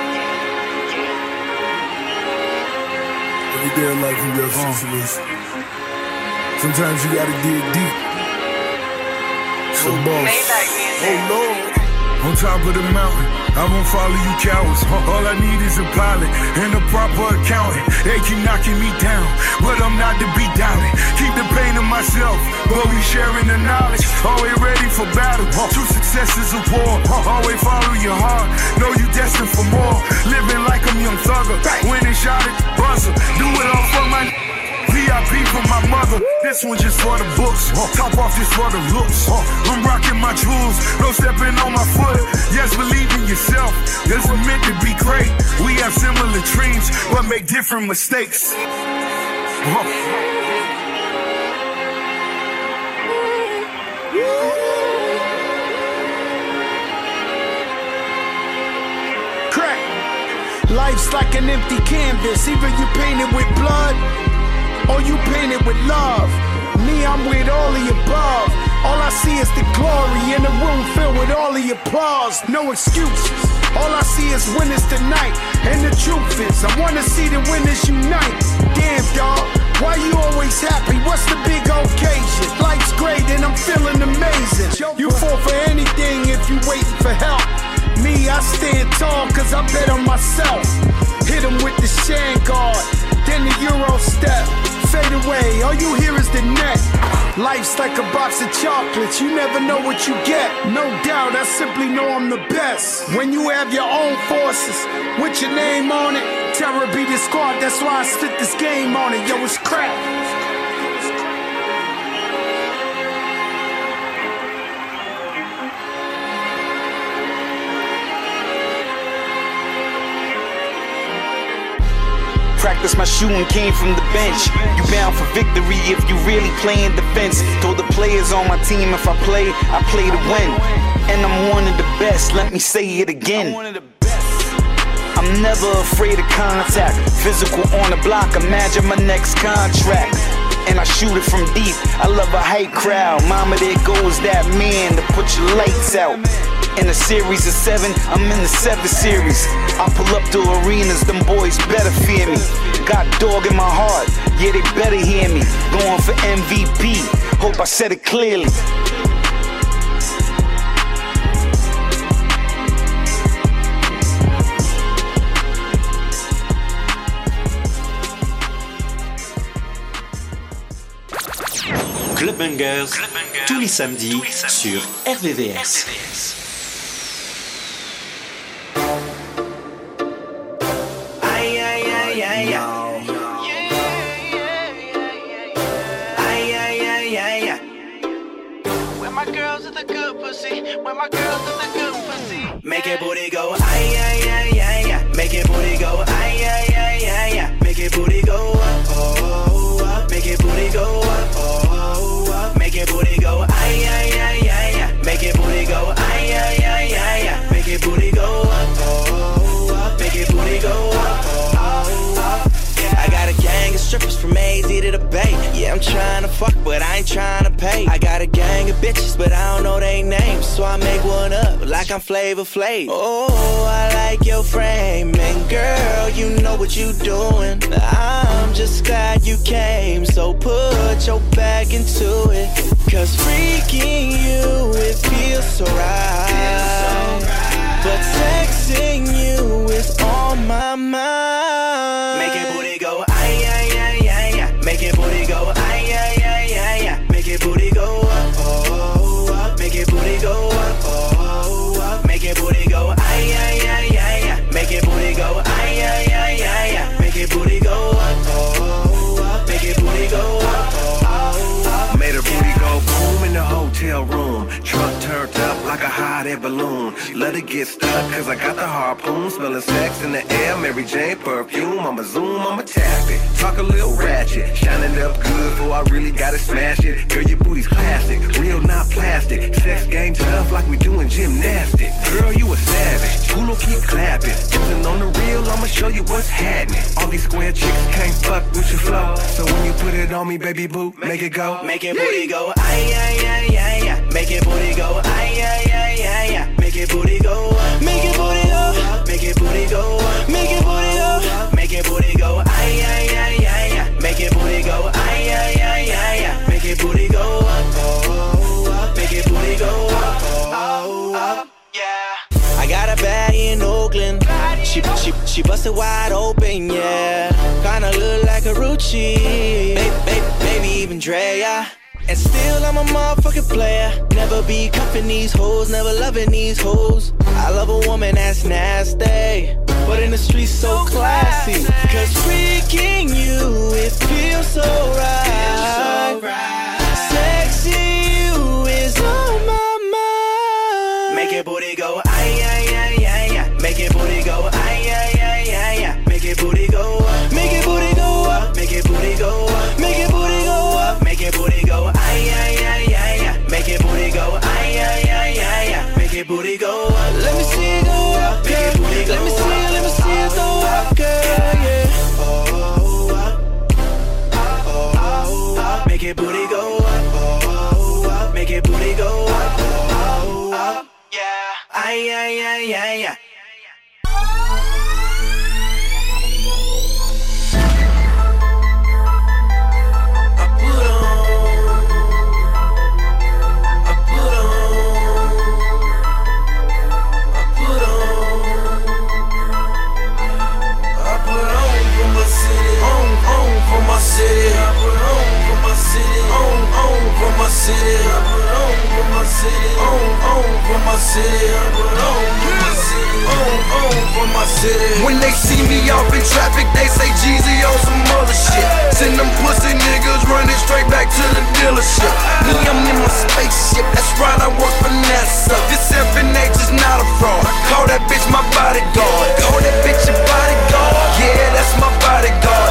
Every day of life you got situations. Sometimes you gotta dig deep. So boss. Oh Lord. On top of the mountain, I won't follow you cowards. All I need is a pilot and a proper accountant. They keep knocking me down, but I'm not to be doubted. Keep the pain to myself, but we sharing the knowledge. Always ready for battle. True success is a war. Always follow your heart. Know you destined for more. Living like I'm Young Thugger. Winning shot at the buzzer. Do it all for my V I P for my mother. This one just for the books. Top off just for the looks. I'm rocking my jewels. No stepping on my foot. Yes, believe in yourself. This is meant to be great. We have similar dreams, but make different mistakes. Crack. Life's like an empty canvas. Either you paint it with blood or you paint it with love. Me, I'm with all the above. All I see is the glory in a room filled with all the applause. No excuses. All I see is winners tonight. And the truth is, I wanna see the winners unite. Damn, dawg, why you always happy? What's the big occasion? Life's great and I'm feeling amazing. You fall for anything if you waiting for help. Me, I stand tall cause I bet on myself. Hit him with the shan guard, then the Euro step. Fade away, all you hear is the net. Life's like a box of chocolates, you never know what you get. No doubt, I simply know I'm the best. When you have your own forces, with your name on it, terror be the squad, that's why I spit this game on it. Yo, it's crap. practice my shooting came from the bench. You bound for victory if you really playing defense. Told the players on my team if I play, I play to win. And I'm one of the best, let me say it again. I'm never afraid of contact. Physical on the block, imagine my next contract. And I shoot it from deep, I love a hype crowd. Mama, there goes that man to put your lights out. In a series of seven, I'm in the seven series. I pull up to arenas, them boys better fear me. Got dog in my heart, yeah they better hear me. Going for M V P, hope I said it clearly. Club Bangers, tous les samedis sur R V V S. Ay, ay, ay, ay, ay. Ay, ay, ay, ay, ay. Where my girls with the good pussy? Where my girls with the good pussy? Make it booty go, ay, ay, ay, ay, ay. Make it booty go, ay, ay, ay, ay, ay. Make it booty go up, oh, up. Make it booty go up, oh, up. Make it booty go, ay, ay, ay, ay, ay. Make it booty go, ay, ay, ay, ay, ay. Make it booty go up, oh, up. Make it booty go up, oh, up. I got a gang of strippers from A Z to the Bay. Yeah, I'm trying to fuck, but I ain't trying to pay. I got a gang of bitches, but I don't know they names. So I make one up like I'm Flavor Flav. Oh, I like your frame. And girl, you know what you doing. I'm just glad you came. So put your back into it. Cause freaking you, it feels so right. But texting you is on my mind. Make it booty go, ay, ay, ay, ay, ay. Make it booty go, ay, ay, ay, ay, ay. Make it booty go up, oh, up. Make it booty go up, oh, up. Make it booty go, ay, ay, ay, ay, ay. Make it booty go, ay, ay, ay, ay, ay. Make it booty go up, oh, up. Make it booty go up, oh, up. Made her booty go boom in the hotel room. Truck turned up like a hot air balloon. Let it get stuck cause I got the harpoon. Smelling sex in the air, Mary Jane perfume. I'ma zoom, I'ma tap it. Talk a little ratchet. Shining up good before I really gotta smash it. Girl, your booty's classic, real not plastic. Sex game tough like we doing gymnastics. Girl, you a savage, Hulu keep clapping. Listen on the real, I'ma show you what's happening. All these square chicks can't fuck with your flow. So when you put it on me, baby boo, make it go. Make it booty go, ay, ay, ay, ay, ay. Make it booty go, ay, ay, ay, ay, ay. Make it booty go up, make it booty go, make it booty go up, make it booty go, make it booty go, ay, ay, ay, ay, ay. Make it booty go, ay, ay, ay, ay, ay. Make it booty go up, oh, up. Make it booty go up, oh, up. Yeah. I got a baddie in Oakland. She she she busted wide open, yeah. Kinda look like a Rucci, baby, baby, baby, even Drea. And still I'm a motherfucking player. Never be cuffing these hoes, never loving these hoes. I love a woman that's nasty, but in the streets so classy. Cause freaking you, it feels so right. Sexy you is on my mind. Make it booty go, ay, ay, ay, ay, ay. Make it booty go, ay, ay, ay, ay, ay. Make it booty go up, make it booty go up, make it booty go up, make it booty go up, make it booty go, ay, ay, ay, ay, ay. Make it booty go, ay, ay, ay, ay, ay. Make it booty go up. Let me see it go up, girl. Let me see it, let me see it go up, girl, yeah. Oh, up, oh, up. Make it booty go up, oh, up. Make it booty go up, oh, up, yeah. Ay, ay, ay, ay, ay. City, I put on for my city, on, on for my city, I put on for my city, on, on for my city, I put on for my city, on, on for my city. When they see me off in traffic, they say Jeezy on some other shit. Send them pussy niggas running straight back to the dealership. Me, I'm in my spaceship, that's right, I work for NASA. This F N H is not a fraud. Call that bitch my bodyguard. Call that bitch your bodyguard. Yeah, that's my bodyguard.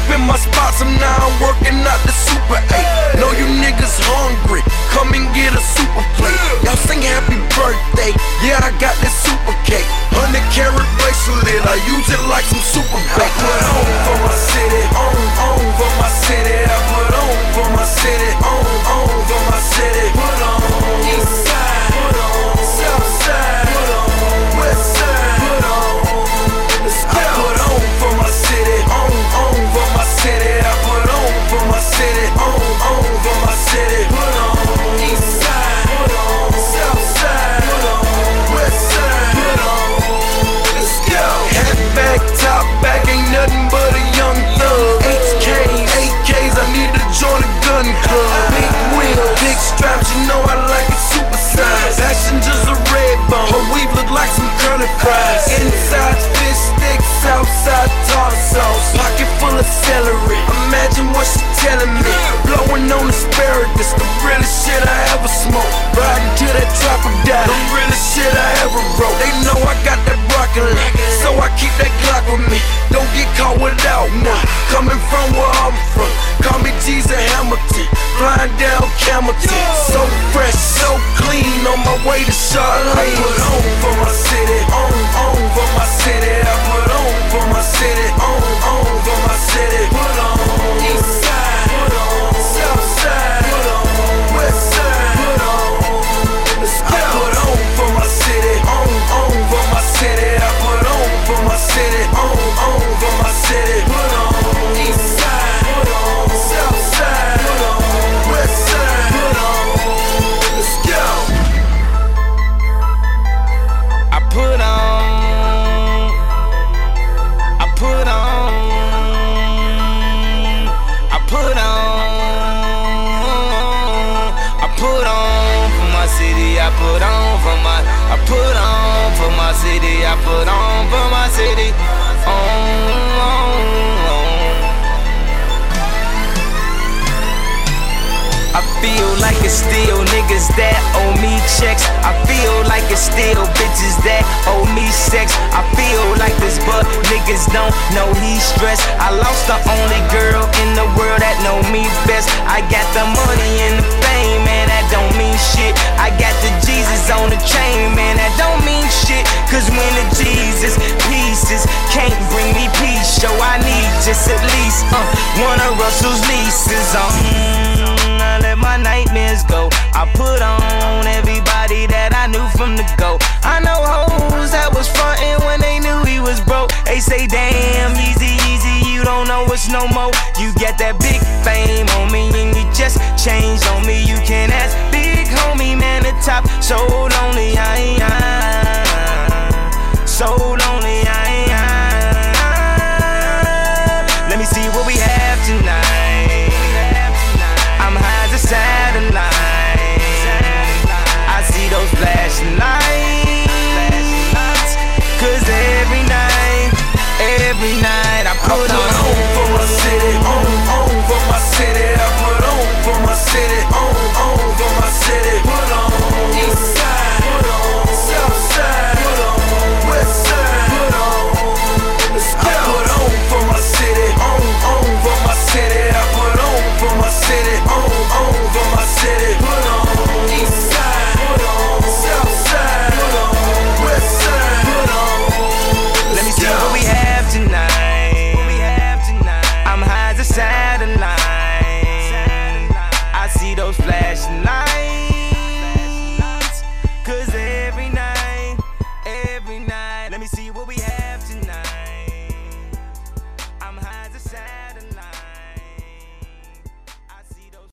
in my spots, I'm now working out the Super eight. Know you niggas hungry, come and get a super plate. Y'all sing happy birthday, yeah, I got this super cake. Hundred carat bracelet, I use it like some super bait. I put on for my city, on, on for my city. I put on for my city, on, on for my city. Put on east side, put on south side, put on west side, put on. Let's go. I put on for my city, on, on for my city. I put on for my city, on, on for my city. Put on east side, put on south side, put on west side, put on. Let's go. Hat back, top back, ain't nothing but a young thug. H Ks, eight Ks, I need to join a gun club. Big wheel, big straps, you know I like it super size. Passengers a red bone, her weave look like some curly fries. Inside fish sticks, outside tartar sauce. Pocket full of celery, imagine what she telling me. Blowing on asparagus, the realest shit I ever smoked. Riding to that trapper die, the realest shit I ever wrote. They know I got that broccoli, so I keep that Glock with me. Don't get caught without one. Coming from where I'm from, call me Jesus Hamilton. Flying down Camelton, so fresh, so clean, on my way to Charlotte. I put on for my city, on, on for my city. I put on for my city, on, on for my city. Put on east side, put on south side, put on west side, put on. Let's go. I put on for my city, on, on for my city. I put on for my city, on, on for my city. Put on east side, put on south side, put on west side, put on. Let's go. I put on, I put on, I put on, I put on for my city. I put on for my, I put on for my city. I put on for my city. On, on, on. I feel like it's still niggas that owe me checks. I feel like it's still bitches that owe me sex. I feel like this, but niggas don't know he's stressed. I lost the only girl in the world that know me best. I got the money and the fame, man, that don't mean shit. I got the Jesus on the chain, man, that don't mean shit. Cause when the Jesus pieces can't bring me peace, so I need just at least uh, one of Russell's leases. Um, I let my nightmares go. I put on everybody that I knew from the go. I know hoes that was frontin' when they knew he was broke. They say, damn, easy, easy, you don't know it's no more. You get that big fame on me and you just changed on me. You can ask big homie, man, the top. So lonely, I am. So lonely, I am. Let me see what we have tonight. I'm high as a satellite. I see those flashing lights. Cause every night, every night I put, I put on, on for my city, on, on for my city. I put on for my city, on, on for my city. Put on east side, put on south side, put on west side, put on. Let's go. I put on for my city, on, on for my city. I put on for my city, on, on for my city. Put on east side, put on south side, put on west side, put on. Let me see what we have tonight. I'm high as a side.